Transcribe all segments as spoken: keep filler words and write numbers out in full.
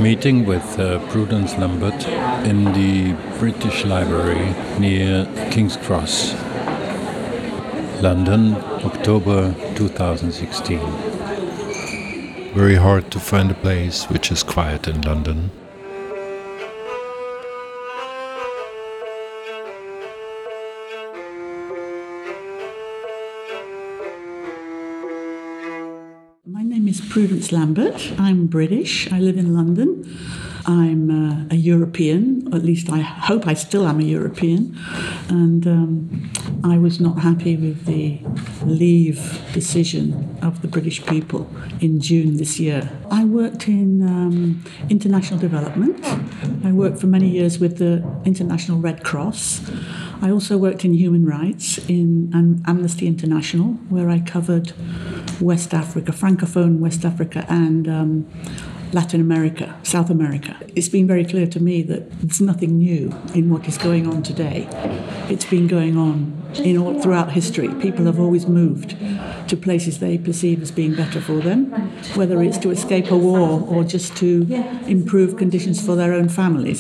meeting with uh, Prudence Lambert in the British Library near King's Cross, London, October two thousand sixteen. Very hard to find a place which is quiet in London. My name is Prudence Lambert. I'm British. I live in London. I'm uh, a European, or at least I hope I still am a European. And um, I was not happy with the leave decision of the British people in June this year. I worked in um, international development. I worked for many years with the International Red Cross. I also worked in human rights in um, Amnesty International, where I covered West Africa, Francophone West Africa, and um, Latin America, South America. It's been very clear to me that there's nothing new in what is going on today. It's been going on in all, throughout history. People have always moved to places they perceive as being better for them, whether it's to escape a war or just to improve conditions for their own families.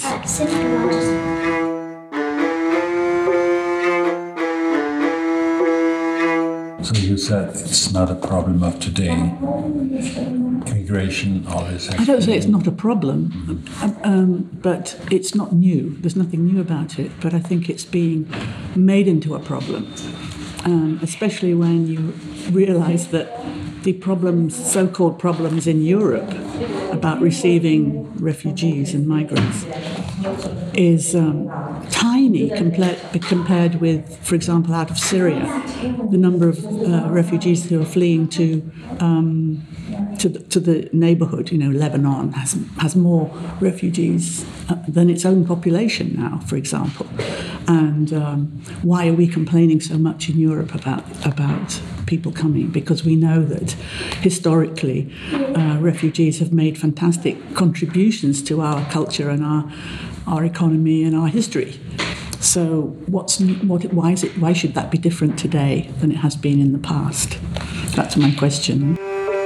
So you said it's not a problem of today. Immigration always. I don't say it's not a problem, mm-hmm. um, but it's not new. There's nothing new about it. But I think it's being made into a problem, um, especially when you realise that the problems, so-called problems in Europe about receiving refugees and migrants, is um, tiny compared, compared with, for example, out of Syria, the number of uh, refugees who are fleeing to um, to the, to the neighbourhood. You know, Lebanon has has more refugees uh, than its own population now, for example. And um, why are we complaining so much in Europe about about people coming? Because we know that historically, uh, refugees have made fantastic contributions to our culture and our our economy and our history. So, what's what? Why is it? Why should that be different today than it has been in the past? That's my question.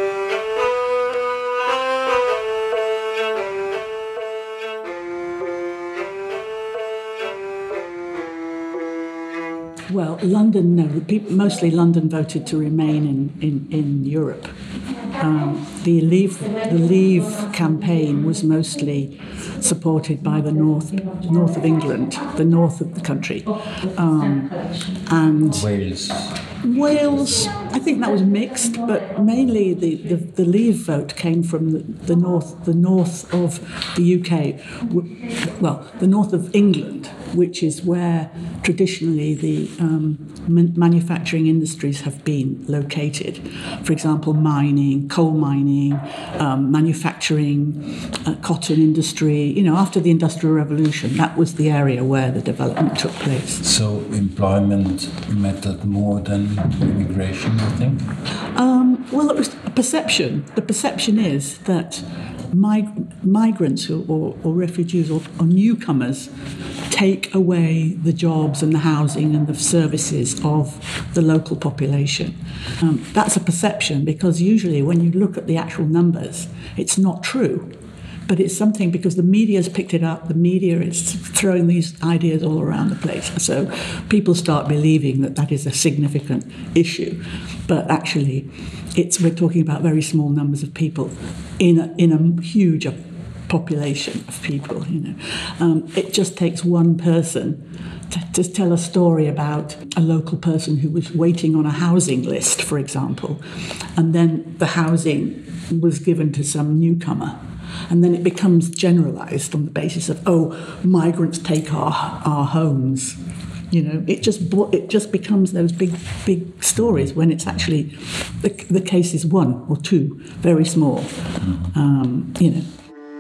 Well, London, no. People, mostly London voted to remain in, in, in Europe. Um, the Leave the Leave campaign was mostly supported by the north north of England, the north of the country, um, and Wales. Wales. I think that was mixed, but mainly the, the, the Leave vote came from the, the north the north of the U K, well, the north of England, which is where traditionally the um, man- manufacturing industries have been located. For example, mining, coal mining, um, manufacturing, uh, cotton industry. You know, after the Industrial Revolution, that was the area where the development took place. So employment mattered more than immigration, I think? Um, well, it was a perception. The perception is that mig- migrants or, or, or refugees or, or newcomers take away the jobs and the housing and the services of the local population. Um, that's a perception, because usually when you look at the actual numbers, it's not true. But it's something because the media's picked it up, the media is throwing these ideas all around the place. So people start believing that that is a significant issue. But actually, it's we're talking about very small numbers of people in a, in a huge population of people, you know. Um, it just takes one person to, to tell a story about a local person who was waiting on a housing list, for example, and then the housing was given to some newcomer. And then it becomes generalised on the basis of, oh, migrants take our our homes. You know, it just it just becomes those big big stories when it's actually the, the case is one or two, very small. Mm-hmm. Um, you know.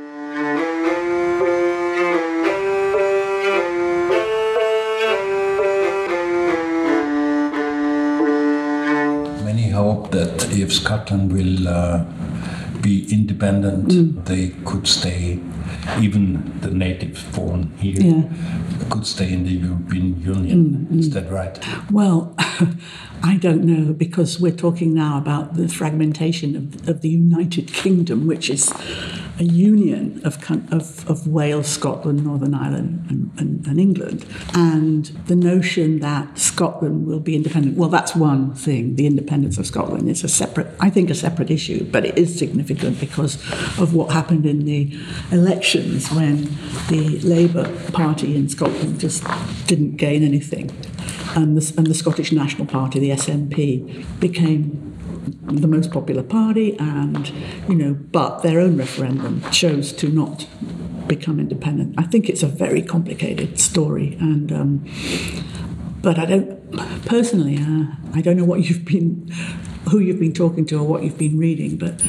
Many hope that if Scotland will uh, be independent, mm. they could stay, even the native born here, yeah. could stay in the European Union. Mm, Is mm. that right? Well, I don't know, because we're talking now about the fragmentation of, of the United Kingdom, which is a union of, of, of Wales, Scotland, Northern Ireland and, and, and England. And the notion that Scotland will be independent, well, that's one thing. The independence of Scotland is a separate, I think, a separate issue, but it is significant because of what happened in the elections when the Labour Party in Scotland just didn't gain anything. And the, and the Scottish National Party, the S N P, became the most popular party, and, you know, but their own referendum chose to not become independent. I think it's a very complicated story, and um, but I don't personally. Uh, I don't know what you've been, who you've been talking to, or what you've been reading, but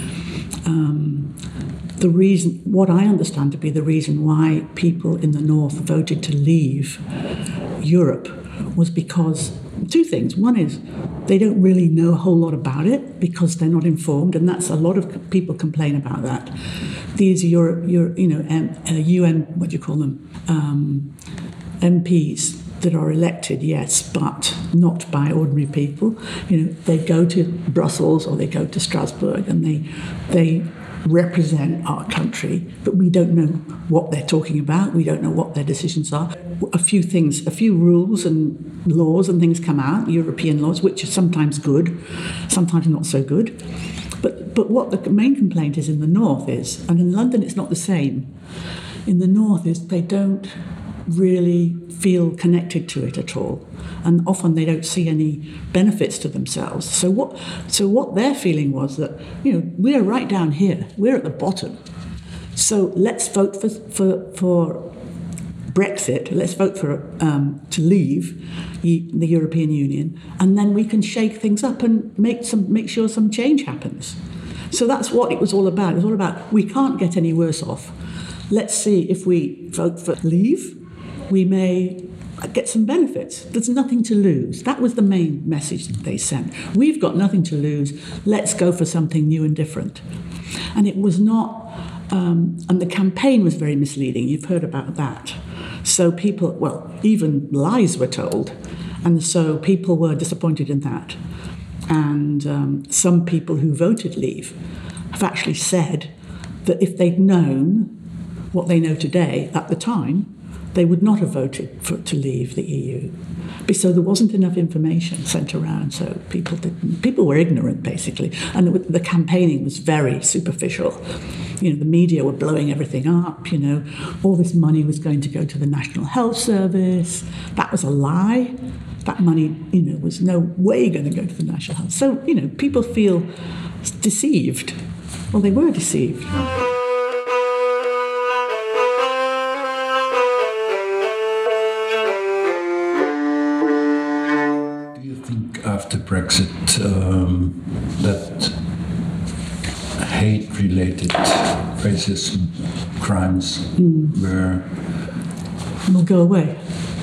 um, the reason, what I understand to be the reason why people in the north voted to leave Europe was because two things. One is they don't really know a whole lot about it because they're not informed, and that's a lot of people complain about that. These Europe, Europe you know, um, uh, U N, what do you call them, um, M Ps that are elected, yes, but not by ordinary people. You know, they go to Brussels or they go to Strasbourg, and they they represent our country, but we don't know what they're talking about. We don't know what their decisions are. A few things, a few rules and laws and things come out, European laws, which are sometimes good, sometimes not so good. But but what the main complaint is in the north is, and in London it's not the same, in the north is they don't really feel connected to it at all, and often they don't see any benefits to themselves. So what so what their feeling was that, you know, we're right down here, we're at the bottom, so let's vote for for, for Brexit, let's vote for um, to leave the European Union, and then we can shake things up and make some make sure some change happens. So that's what it was all about. It was all about, we can't get any worse off. Let's see if we vote for leave, we may get some benefits. There's nothing to lose. That was the main message that they sent. We've got nothing to lose. Let's go for something new and different. And it was not, um, and the campaign was very misleading. You've heard about that. So people, well, even lies were told. And so people were disappointed in that. And um, some people who voted leave have actually said that if they'd known what they know today at the time, they would not have voted for, to leave the E U. So there wasn't enough information sent around, so people didn't. People were ignorant, basically, and the, the campaigning was very superficial. You know, the media were blowing everything up. You know, all this money was going to go to the National Health Service. That was a lie. That money, you know, was no way going to go to the National Health. So, you know, people feel deceived. Well, they were deceived. After Brexit, um, that hate-related racism crimes mm. were will go away.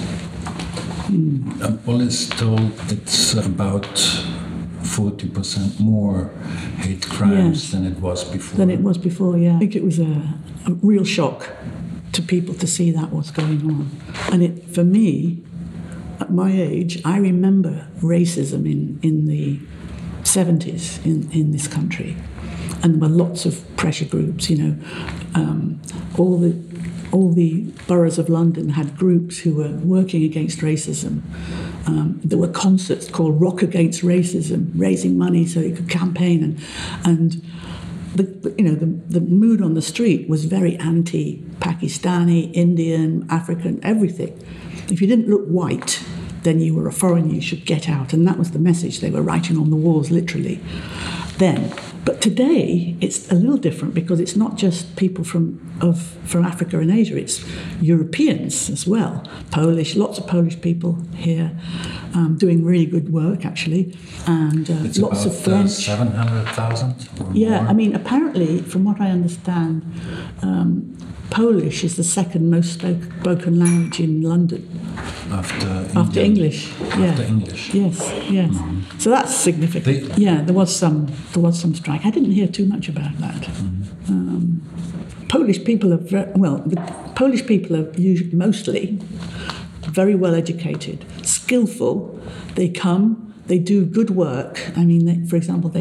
Mm. Uh, well, it's told it's about forty percent more hate crimes yes. than it was before. Than it was before, yeah. I think it was a, a real shock to people to see that what's going on, and it for me. At my age, I remember racism in, in the seventies in, in this country. And there were lots of pressure groups, you know. Um, all the all the boroughs of London had groups who were working against racism. Um, there were concerts called Rock Against Racism, raising money so they could campaign. And, and the, you know, the, the mood on the street was very anti-Pakistani, Indian, African, everything. If you didn't look white, then you were a foreigner, you should get out. And that was the message they were writing on the walls, literally, then. But today, it's a little different because it's not just people from of from Africa and Asia, it's Europeans as well. Polish, lots of Polish people here um, doing really good work, actually. And uh, it's lots about, of French. Uh, seven hundred thousand? Yeah, more. I mean, apparently, from what I understand, um, Polish is the second most spoke, spoken language in London. After, After English, yeah. After English. Yes, yes. Mm-hmm. So that's significant. They, yeah, there was some there was some strike. I didn't hear too much about that. Mm-hmm. Um, Polish people are very, well. The Polish people are usually, mostly very well educated, skillful. They come, they do good work. I mean, they, for example, they've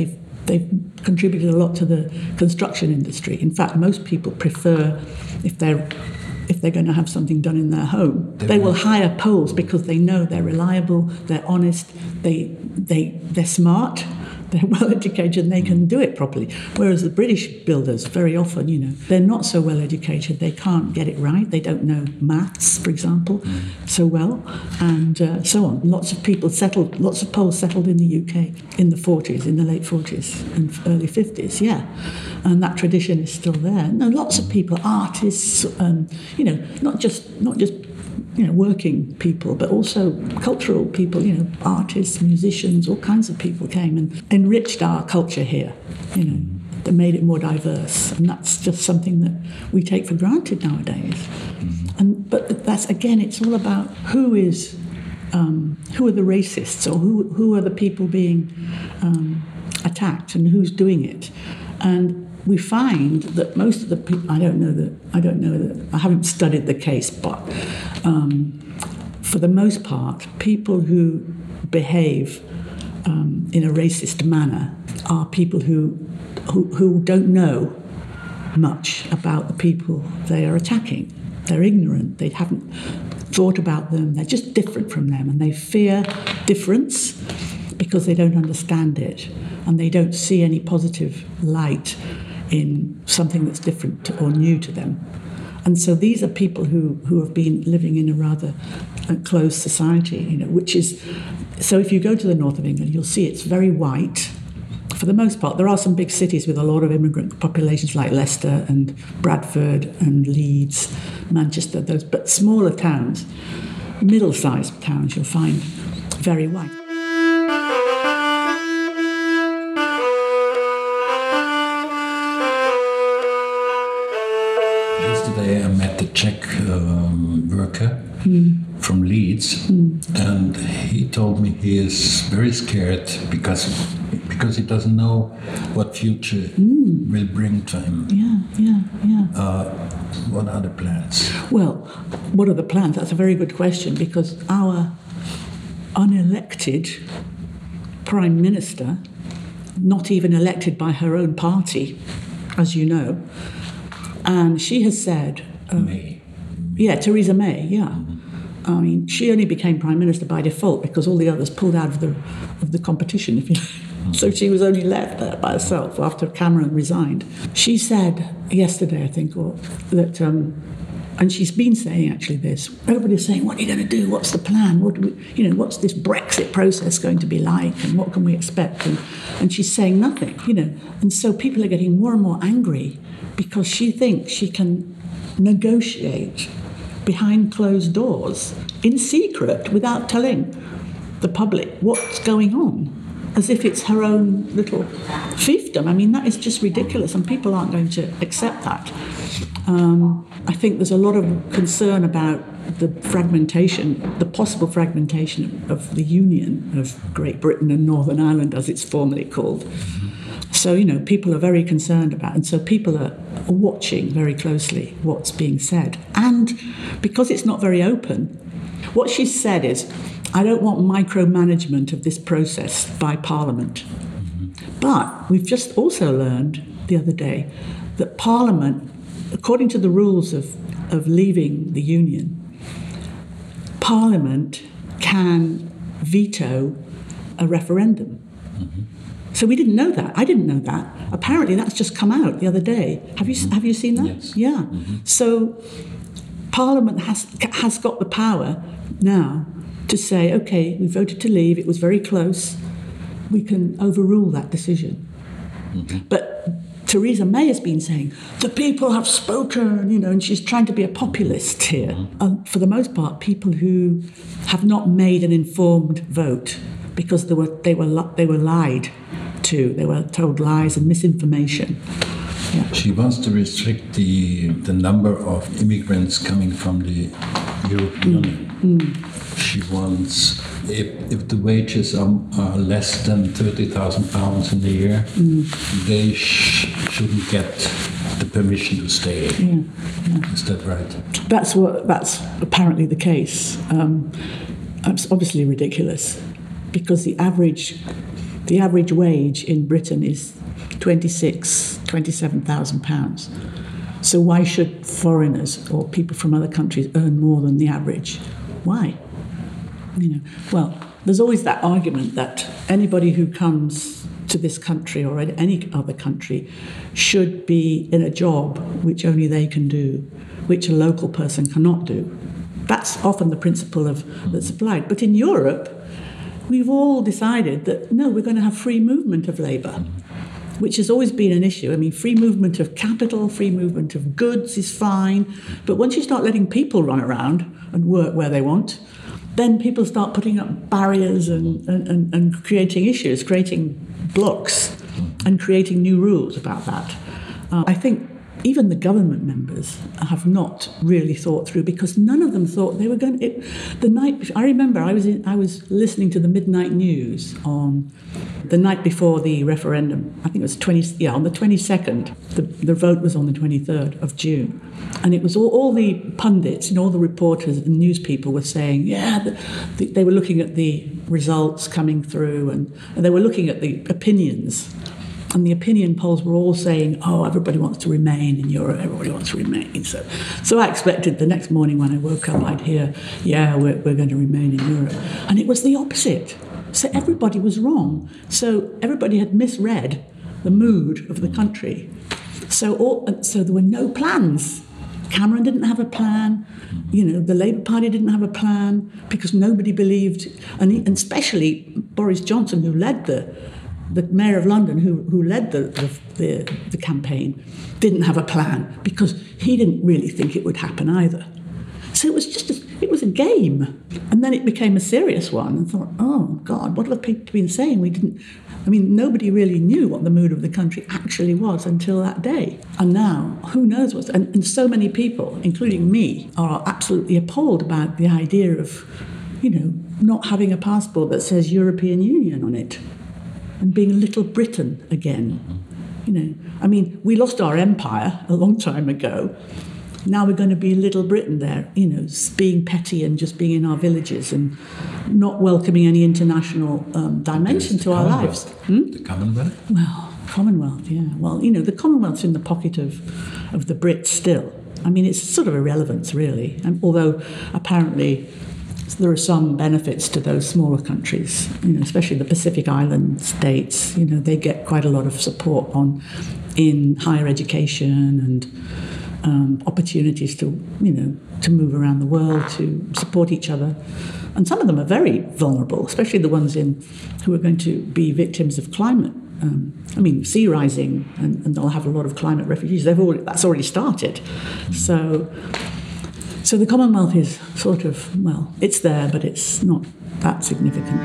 they've contributed a lot to the construction industry. In fact, most people prefer, if they're if they're going to have something done in their home, they, they will hire Poles because they know they're reliable, they're honest, they they they're smart, they're well educated, and they can do it properly. Whereas the British builders, very often, you know, they're not so well educated, they can't get it right, they don't know maths, for example, mm. so well, and uh, so on. Lots of people settled, lots of Poles settled in the U K in the forties, in the late forties and early fifties, yeah. And that tradition is still there. No, lots of people, artists, um, you know, not just not just you know working people, but also cultural people. You know, artists, musicians, all kinds of people came and enriched our culture here. You know, they made it more diverse, and that's just something that we take for granted nowadays. Mm-hmm. And but that's again, it's all about who is um, who are the racists, or who who are the people being um, attacked, and who's doing it, and we find that most of the people, I don't know that, I don't know that, I haven't studied the case, but um, for the most part, people who behave um, in a racist manner are people who, who who don't know much about the people they are attacking. They're ignorant, they haven't thought about them, they're just different from them, and they fear difference because they don't understand it, and they don't see any positive light in something that's different to, or new to them. And so these are people who, who have been living in a rather uh, closed society, you know, which is, so if you go to the north of England, you'll see it's very white. For the most part, there are some big cities with a lot of immigrant populations like Leicester and Bradford and Leeds, Manchester, those, but smaller towns, middle-sized towns, you'll find very white. Yesterday I met the Czech um, worker mm. from Leeds, mm. and he told me he is very scared because because he doesn't know what future mm. will bring to him. Yeah, yeah, yeah. Uh, what are the plans? Well, what are the plans? That's a very good question, because our unelected Prime Minister, not even elected by her own party, as you know, and she has said... Uh, May. Yeah, Theresa May, yeah. Mm-hmm. I mean, she only became Prime Minister by default because all the others pulled out of the of the competition, if you mm-hmm. So she was only left there by herself after Cameron resigned. She said yesterday, I think, or that... Um, and she's been saying actually this. Everybody's saying, what are you going to do? What's the plan? What do we, you know, what's this Brexit process going to be like? And what can we expect? And, and she's saying nothing, you know. And so people are getting more and more angry because she thinks she can negotiate behind closed doors in secret without telling the public what's going on, as if it's her own little fiefdom. I mean, that is just ridiculous, and people aren't going to accept that. Um, I think there's a lot of concern about the fragmentation, the possible fragmentation of the Union of Great Britain and Northern Ireland, as it's formally called. Mm-hmm. So, you know, people are very concerned about it, and so people are watching very closely what's being said. And because it's not very open, what she's said is, I don't want micromanagement of this process by Parliament. Mm-hmm. But we've just also learned the other day that Parliament, according to the rules of, of leaving the Union, Parliament can veto a referendum. Mm-hmm. So we didn't know that. I didn't know that. Apparently that's just come out the other day. Have you mm-hmm. have you seen that? Yes. Yeah. Mm-hmm. So Parliament has has got the power now to say, okay, we voted to leave, it was very close, we can overrule that decision. Mm-hmm. But Theresa May has been saying, the people have spoken, you know, and she's trying to be a populist here. Mm-hmm. Uh, for the most part, people who have not made an informed vote because they were they were they were lied to, they were told lies and misinformation. Yeah. She wants to restrict the the number of immigrants coming from the European Union. Mm. Mm. She wants, if, if the wages are, are less than thirty thousand pounds in a year, mm. they sh- shouldn't get the permission to stay. Yeah, yeah. Is that right? That's what. That's apparently the case. Um, it's obviously ridiculous, because the average the average wage in Britain is twenty-six, twenty-seven thousand pounds. So why should foreigners or people from other countries earn more than the average? Why? You know, well, there's always that argument that anybody who comes to this country or any other country should be in a job which only they can do, which a local person cannot do. That's often the principle of that's applied. But in Europe, we've all decided that, no, we're going to have free movement of labour, which has always been an issue. I mean, free movement of capital, free movement of goods is fine. But once you start letting people run around and work where they want, then people start putting up barriers and, and, and, and creating issues, creating blocks and creating new rules about that. Uh, I think even the government members have not really thought through, because none of them thought they were going to... It, the night, I remember I was in, I was listening to the midnight news on the night before the referendum. I think it was twenty yeah on the twenty-second. The, the vote was on the twenty-third of June, and it was all, all the pundits and all the reporters and news people were saying, yeah, the, the, they were looking at the results coming through, and, and they were looking at the opinions. And the opinion polls were all saying, oh, everybody wants to remain in Europe, everybody wants to remain. So so I expected the next morning when I woke up, I'd hear, yeah, we're, we're going to remain in Europe. And it was the opposite. So everybody was wrong. So everybody had misread the mood of the country. So all, so there were no plans. Cameron didn't have a plan. You know, the Labour Party didn't have a plan because nobody believed, and, he, and especially Boris Johnson, who led the the Mayor of London, who, who led the, the, the, the campaign, didn't have a plan because he didn't really think it would happen either. So it was just, a, it was a game. And then it became a serious one and thought, oh, God, what have people been saying? We didn't, I mean, nobody really knew what the mood of the country actually was until that day. And now, who knows what's, and, and so many people, including me, are absolutely appalled about the idea of, you know, not having a passport that says European Union on it. And being Little Britain again. You know, I mean, we lost our empire a long time ago. Now we're going to be Little Britain there, you know, being petty and just being in our villages and not welcoming any international um, dimension to our lives. Hmm? The Commonwealth? Well, Commonwealth, yeah. Well, you know, the Commonwealth's in the pocket of, of the Brits still. I mean, it's sort of irrelevance, really. And although apparently there are some benefits to those smaller countries, you know, especially the Pacific Island states. You know, they get quite a lot of support on in higher education and um, opportunities to, you know, to move around the world, to support each other. And some of them are very vulnerable, especially the ones in who are going to be victims of climate. Um, I mean, sea rising, and, and they'll have a lot of climate refugees. They've already, that's already started. So. So the Commonwealth is sort of, well, it's there, but it's not that significant.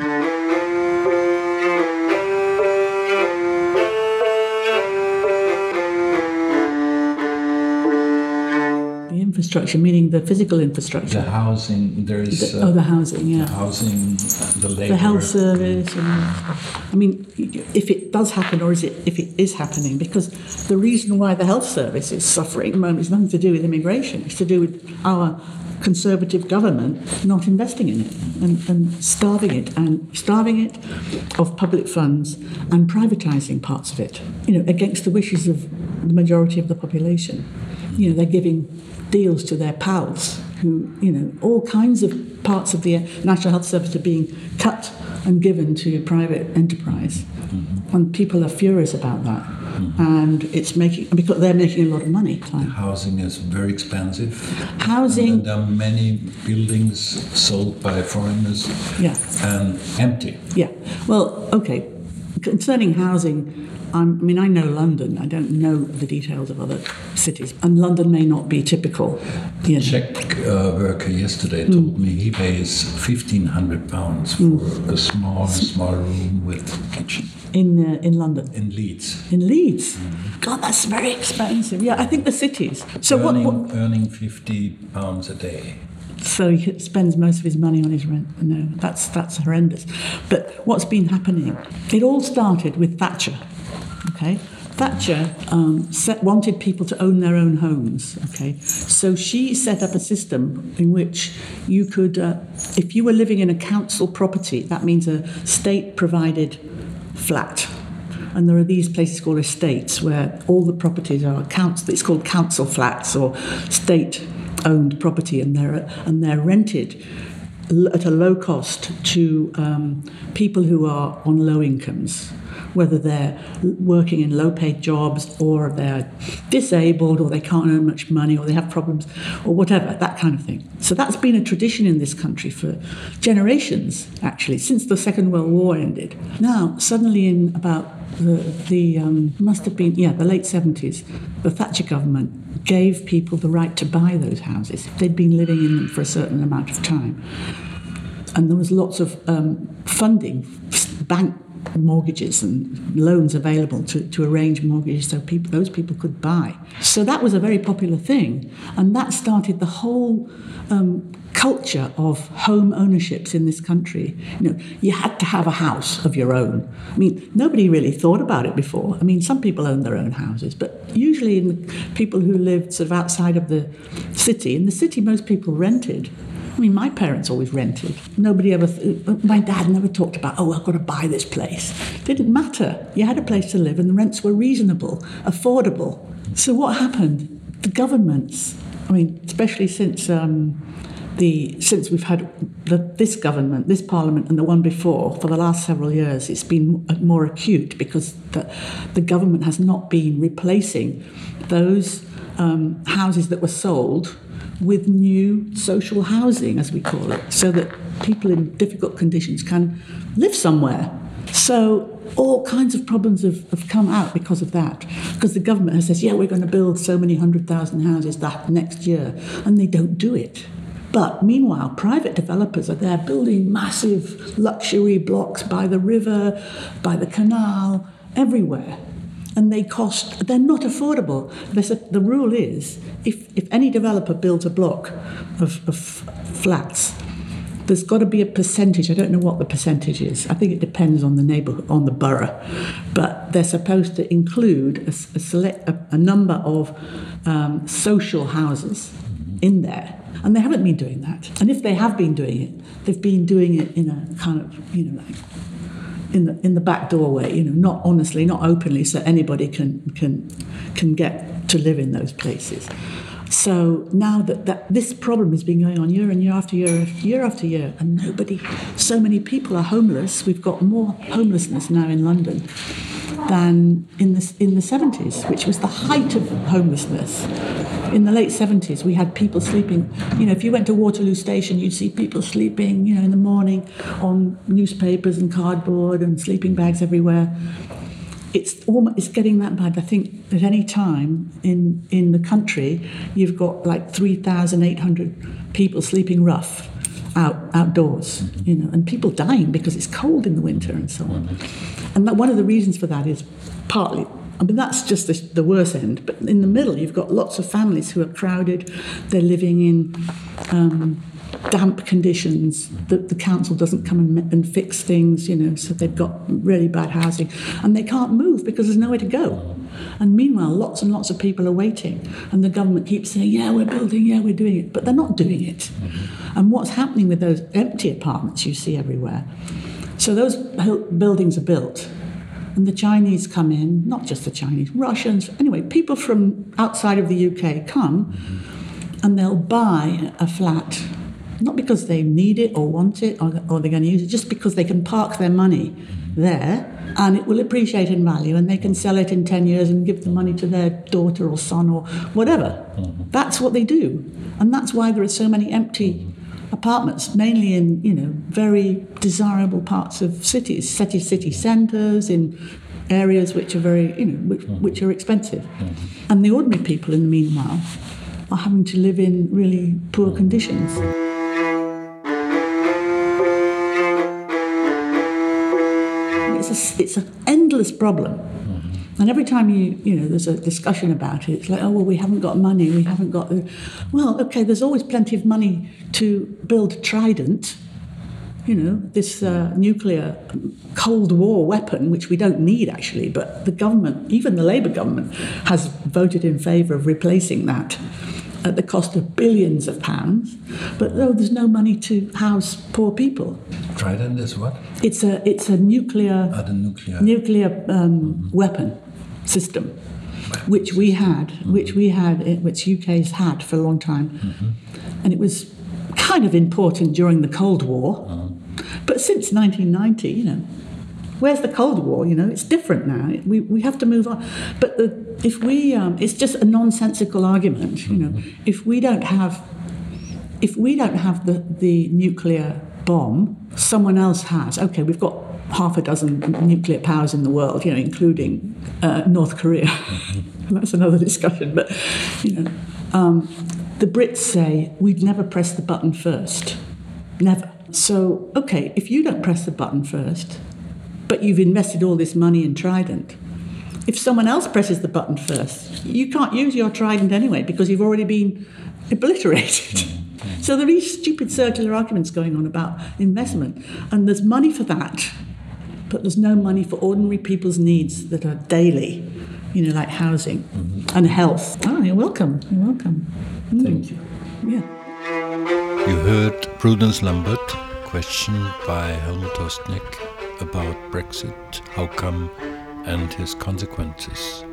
The infrastructure, meaning the physical infrastructure. The housing, there is... The, uh, oh, the housing, yeah. The housing, the labour. The health service. And, I mean, if it does happen, or is it, if it is happening, because the reason why the health service is suffering at the moment is nothing to do with immigration. It's to do with our Conservative government not investing in it and, and starving it and starving it of public funds and privatising parts of it, you know, against the wishes of the majority of the population. You know, they're giving deals to their pals who, you know, all kinds of parts of the National Health Service are being cut and given to private enterprise. Mm-hmm. And people are furious about that. Mm-hmm. And it's making, because they're making a lot of money. The housing is very expensive. Housing. And there are many buildings sold by foreigners. Yeah. And empty. Yeah. Well, okay. Concerning housing, I'm, I mean, I know London. I don't know the details of other cities. And London may not be typical. The Czech uh, worker yesterday mm. told me he pays fifteen hundred pounds for mm. a small, small room with kitchen. In uh, in London? In Leeds. In Leeds? Mm. God, that's very expensive. Yeah, I think the cities. So earning, what, what? Earning fifty pounds a day. So he spends most of his money on his rent. No, that's that's horrendous. But what's been happening? It all started with Thatcher. Okay, Thatcher um, set, wanted people to own their own homes. Okay, so she set up a system in which you could, uh, if you were living in a council property, that means a state-provided flat. And there are these places called estates where all the properties are council. It's called council flats or state-owned property, and they're and they're rented at a low cost to um, people who are on low incomes, whether they're working in low-paid jobs or they're disabled or they can't earn much money or they have problems or whatever, that kind of thing. So that's been a tradition in this country for generations, actually, since the Second World War ended. Now, suddenly in about the, the um, must have been, yeah, the late seventies, the Thatcher government gave people the right to buy those houses. They'd been living in them for a certain amount of time. And there was lots of um, funding, bank mortgages and loans available to, to arrange mortgages so people, those people could buy. So that was a very popular thing. And that started the whole um, culture of home ownerships in this country. You know, you had to have a house of your own. I mean, nobody really thought about it before. I mean, some people own their own houses, but usually in the people who lived sort of outside of the city, in the city most people rented. I mean, my parents always rented. Nobody ever, th- my dad never talked about, oh, I've got to buy this place. It didn't matter. You had a place to live and the rents were reasonable, affordable. So what happened? The governments, I mean, especially since um, the since we've had the, this government, this parliament and the one before, for the last several years, it's been more acute because the, the government has not been replacing those um, houses that were sold with new social housing, as we call it, so that people in difficult conditions can live somewhere. So all kinds of problems have, have come out because of that, because the government has said, yeah, we're going to build so many hundred thousand houses that next year, and they don't do it. But meanwhile, private developers are there building massive luxury blocks by the river, by the canal, everywhere. And they cost, they're not affordable. There's a, the rule is, if, if any developer builds a block of, of flats, there's got to be a percentage. I don't know what the percentage is. I think it depends on the neighborhood, on the borough. But they're supposed to include a, a, select, a, a number of um, social houses in there. And they haven't been doing that. And if they have been doing it, they've been doing it in a kind of, you know, like, in the in the back doorway, you know, not honestly, not openly, so anybody can can can get to live in those places. So now that, that this problem has been going on year and year after year, year after year, and nobody, so many people are homeless. We've got more homelessness now in London than in the in the seventies, which was the height of homelessness. In the late seventies, we had people sleeping, you know, if you went to Waterloo Station, you'd see people sleeping, you know, in the morning on newspapers and cardboard and sleeping bags everywhere. It's almost, it's getting that bad. I think at any time in, in the country, you've got like three thousand eight hundred people sleeping rough out outdoors, you know, and people dying because it's cold in the winter and so on. And that, one of the reasons for that is partly, I mean, that's just the, the worst end. But in the middle, you've got lots of families who are crowded. They're living in um, damp conditions. The, the council doesn't come and, and fix things, you know, so they've got really bad housing. And they can't move because there's nowhere to go. And meanwhile, lots and lots of people are waiting. And the government keeps saying, yeah, we're building, yeah, we're doing it. But they're not doing it. Mm-hmm. And what's happening with those empty apartments you see everywhere? So those buildings are built. And the Chinese come in, not just the Chinese, Russians, anyway, people from outside of the U K come and they'll buy a flat, not because they need it or want it or, or they're going to use it, just because they can park their money there and it will appreciate in value and they can sell it in ten years and give the money to their daughter or son or whatever. Mm-hmm. That's what they do. And that's why there are so many empty apartments, mainly in, you know, very desirable parts of cities, city city centres, in areas which are very, you know, which, which are expensive. Mm-hmm. And the ordinary people, in the meanwhile, are having to live in really poor conditions. It's a, it's an endless problem. And every time you, you know, there's a discussion about it, it's like, oh, well, we haven't got money, we haven't got... The... Well, OK, there's always plenty of money to build Trident, you know, this uh, nuclear Cold War weapon, which we don't need, actually, but the government, even the Labour government, has voted in favour of replacing that at the cost of billions of pounds, but though there's no money to house poor people. Trident is what? It's a it's a nuclear Ah, the nuclear nuclear um, mm-hmm. weapon system, which we had, mm-hmm. which we had, which U K's had for a long time, mm-hmm. and it was kind of important during the Cold War, mm-hmm. but since nineteen ninety, you know. Where's the Cold War? You know, it's different now. We we have to move on. But the, if we, um, it's just a nonsensical argument. You know, if we don't have, if we don't have the, the nuclear bomb, someone else has. Okay, we've got half a dozen nuclear powers in the world. You know, including uh, North Korea. That's another discussion. But you know, um, the Brits say we'd never press the button first. Never. So okay, if you don't press the button first, but you've invested all this money in Trident, if someone else presses the button first, you can't use your Trident anyway because you've already been obliterated. Mm-hmm. So there are these stupid circular arguments going on about investment, and there's money for that, but there's no money for ordinary people's needs that are daily, you know, like housing mm-hmm. and health. Oh, you're welcome. You're welcome. Mm. Thank you. Yeah. You heard Prudence Lambert, questioned by Helmut Ostnick about Brexit, how come, and his consequences.